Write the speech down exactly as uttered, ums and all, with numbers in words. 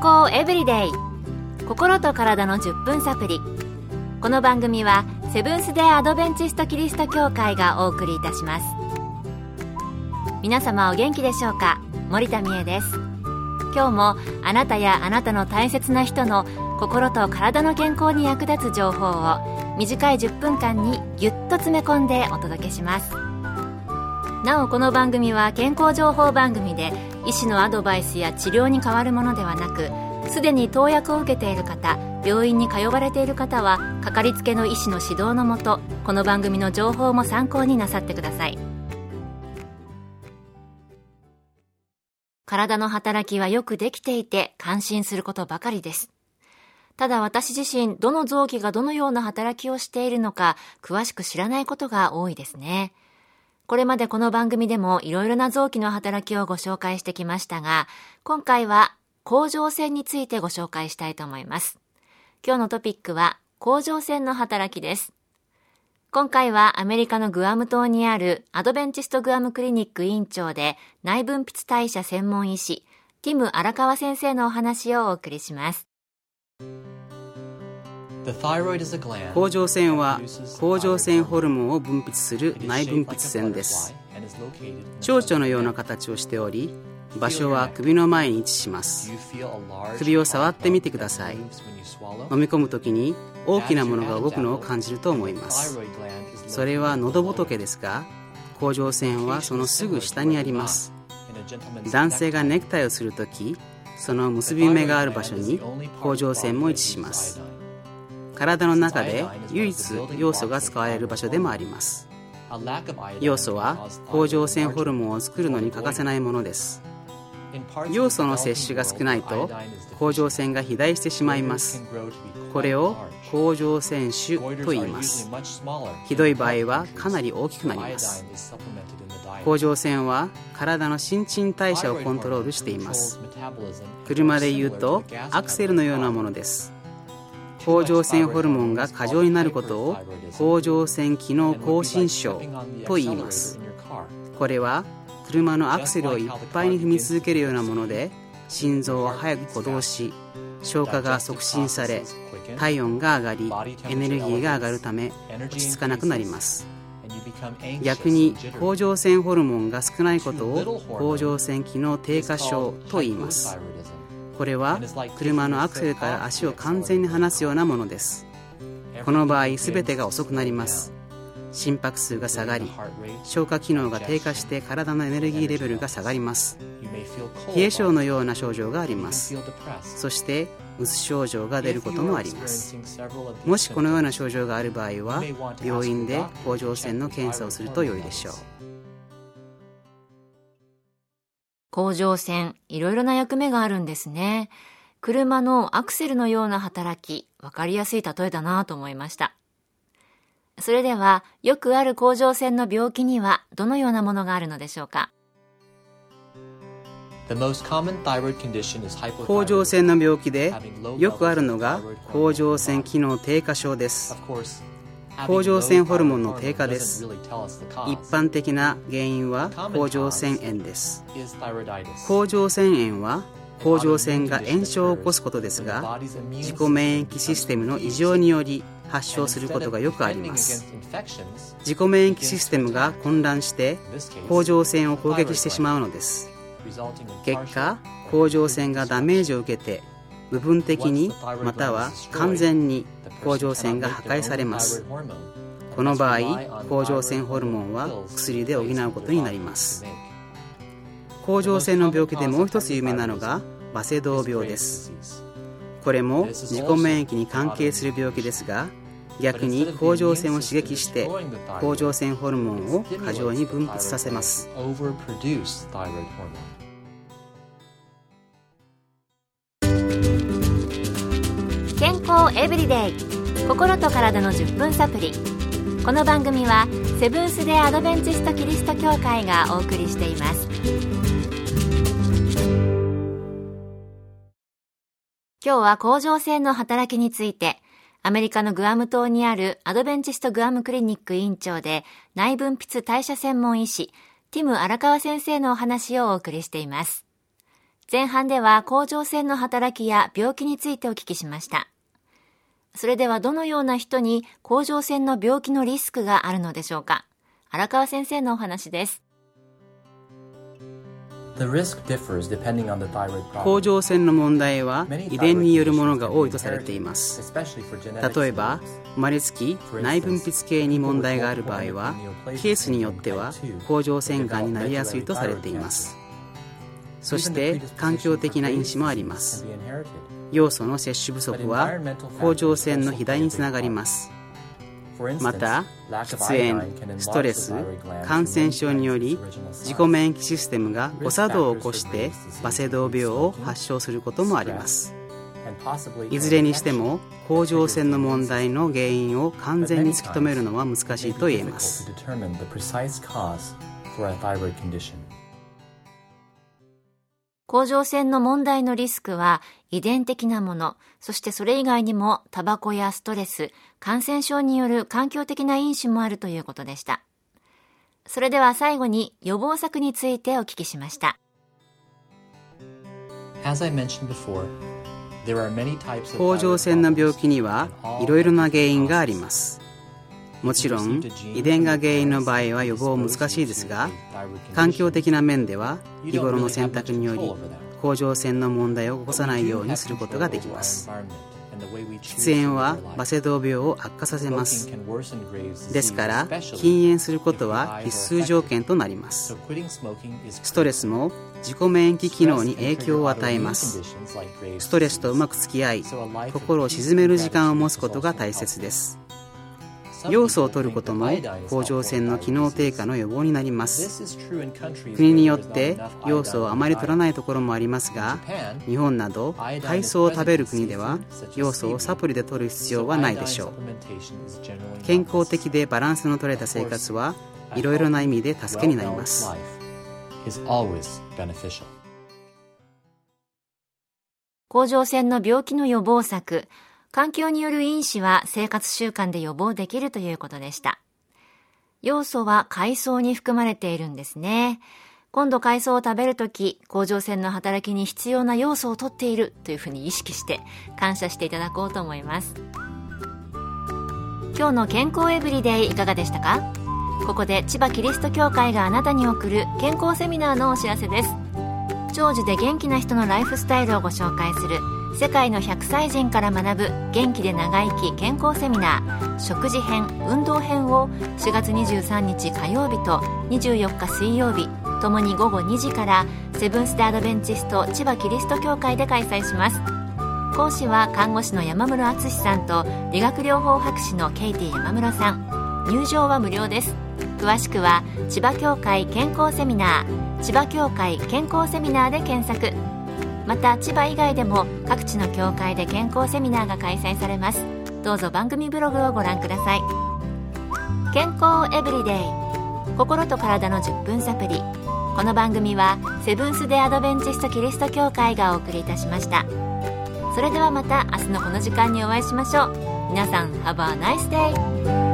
康エブリデイ、心と体のじゅっぷんサプリ。この番組はセブンス・デー・アドベンチスト・キリスト教会がお送りいたします。皆様お元気でしょうか。森田美恵です。今日もあなたやあなたの大切な人の心と体の健康に役立つ情報を短いじゅっぷんかんにぎゅっと詰め込んでお届けします。なおこの番組は健康情報番組で医師のアドバイスや治療に代わるものではなく、すでに投薬を受けている方、病院に通われている方はかかりつけの医師の指導のもと、この番組の情報も参考になさってください。体の働きはよくできていて感心することばかりです。ただ私自身、どの臓器がどのような働きをしているのか詳しく知らないことが多いですね。これまでこの番組でもいろいろな臓器の働きをご紹介してきましたが、今回は甲状腺についてご紹介したいと思います。今日のトピックは甲状腺の働きです。今回はアメリカのグアム島にあるアドベンチストグアムクリニック院長で内分泌代謝専門医師ティム荒川先生のお話をお送りします。 甲状腺は甲状腺ホルモンを分泌する内分泌腺です。蝶々のような形をしており、場所は首の前に位置します。首を触ってみてください。飲み込むときに大きなものが動くのを感じると思います。それは喉仏ですが、甲状腺はそのすぐ下にあります。男性がネクタイをするとき、その結び目がある場所に甲状腺も位置します。体の中で唯一要素が使われる場所でもあります。要素は甲状腺ホルモンを作るのに欠かせないものです。要素の摂取が少ないと甲状腺が肥大してしまいます。これを甲状腺腫と言います。ひどい場合はかなり大きくなります。甲状腺は体の新陳代謝をコントロールしています。車で言うとアクセルのようなものです。甲状腺ホルモンが過剰になることを甲状腺機能亢進症と言います。これは車のアクセルをいっぱいに踏み続けるようなもので、心臓は早く鼓動し、消化が促進され、体温が上がり、エネルギーが上がるため落ち着かなくなります。逆に甲状腺ホルモンが少ないことを甲状腺機能低下症と言います。これは車のアクセルから足を完全に離すようなものです。この場合全てが遅くなります。心拍数が下がり、消化機能が低下して体のエネルギーレベルが下がります。冷え症のような症状があります。そしてうつ症状が出ることもあります。もしこのような症状がある場合は病院で甲状腺の検査をすると良いでしょう。 甲状腺、いろいろな役目があるんですね。車のアクセルのような働き、わかりやすい例えだなと思いました。それでは、よくある甲状腺の病気にはどのようなものがあるのでしょうか。 甲状腺の病気でよくあるのが甲状腺機能低下症です。甲状腺ホルモンの低下です。一般的な原因は甲状腺炎です。甲状腺炎は甲状腺が炎症を起こすことですが、自己免疫システムの異常により発症することがよくあります。自己免疫システムが混乱して甲状腺を攻撃してしまうのです。結果、甲状腺がダメージを受けて部分的にまたは完全に甲状腺が破壊されます。この場合、甲状腺ホルモンは薬で補うことになります。甲状腺の病気でもう一つ有名なのがバセドウ病です。これも自己免疫に関係する病気ですが、逆に甲状腺を刺激して甲状腺ホルモンを過剰に分泌させます。 健康エブリデイ、心と体のじゅっぷんサプリ。この番組はセブンス・デー・アドベンチスト・キリスト教会がお送りしています。今日は甲状腺の働きについて、アメリカのグアム島にあるアドベンチストグアムクリニック院長で内分泌代謝専門医師ティム荒川先生のお話をお送りしています。 前半では甲状腺の働きや病気についてお聞きしました。それではどのような人に甲状腺の病気のリスクがあるのでしょうか。荒川先生のお話です。 甲状腺の問題は遺伝によるものが多いとされています。例えば生まれつき内分泌系に問題がある場合はケースによっては甲状腺がんになりやすいとされています。そして環境的な因子もあります。要素の摂取不足は甲状腺の肥大につながります。また喫煙、ストレス、感染症により自己免疫システムが誤作動を起こしてバセドウ病を発症することもあります。いずれにしても甲状腺の問題の原因を完全に突き止めるのは難しいと言えます。 甲状腺の問題のリスクは遺伝的なもの、そしてそれ以外にもタバコやストレス、感染症による環境的な因子もあるということでした。それでは最後に予防策についてお聞きしました。 甲状腺の病気にはいろいろな原因があります。もちろん遺伝が原因の場合は予防難しいですが、環境的な面では日頃の選択により甲状腺の問題を起こさないようにすることができます。喫煙はバセドウ病を悪化させます。ですから禁煙することは必須条件となります。ストレスも自己免疫機能に影響を与えます。ストレスとうまく付き合い、心を鎮める時間を持つことが大切です。要素を取ることも甲状腺の機能低下の予防になります。国によって要素をあまり取らないところもありますが、日本など海藻を食べる国では要素をサプリで取る必要はないでしょう。健康的でバランスの取れた生活はいろいろな意味で助けになります。 甲状腺の病気の予防策、環境による因子は生活習慣で予防できるということでした。要素は海藻に含まれているんですね。今度海藻を食べるとき、甲状腺の働きに必要な要素を取っているというふうに意識して感謝していただこうと思います。今日の健康エブリデイいかがでしたか？ここで千葉キリスト教会があなたに送る健康セミナーのお知らせです。長寿で元気な人のライフスタイルをご紹介する世界のひゃくさい人から学ぶ元気で長生き健康セミナー食事編、運動編をしがつにじゅうさんにち火曜日とにじゅうよっか水曜日ともにごごにじからセブンス・デ・アドベンチスト千葉キリスト教会で開催します。講師は看護師の山室敦さんと理学療法博士のケイティ山室さん。入場は無料です。詳しくは千葉教会健康セミナー、千葉教会健康セミナーで検索。また千葉以外でも各地の教会で健康セミナーが開催されます。どうぞ番組ブログをご覧ください。健康エブリデイ、心と体のじゅっぷんサプリ。この番組はセブンス・デ・アドベンチスト・キリスト教会がお送りいたしました。それではまた明日のこの時間にお会いしましょう。皆さん Have a nice day!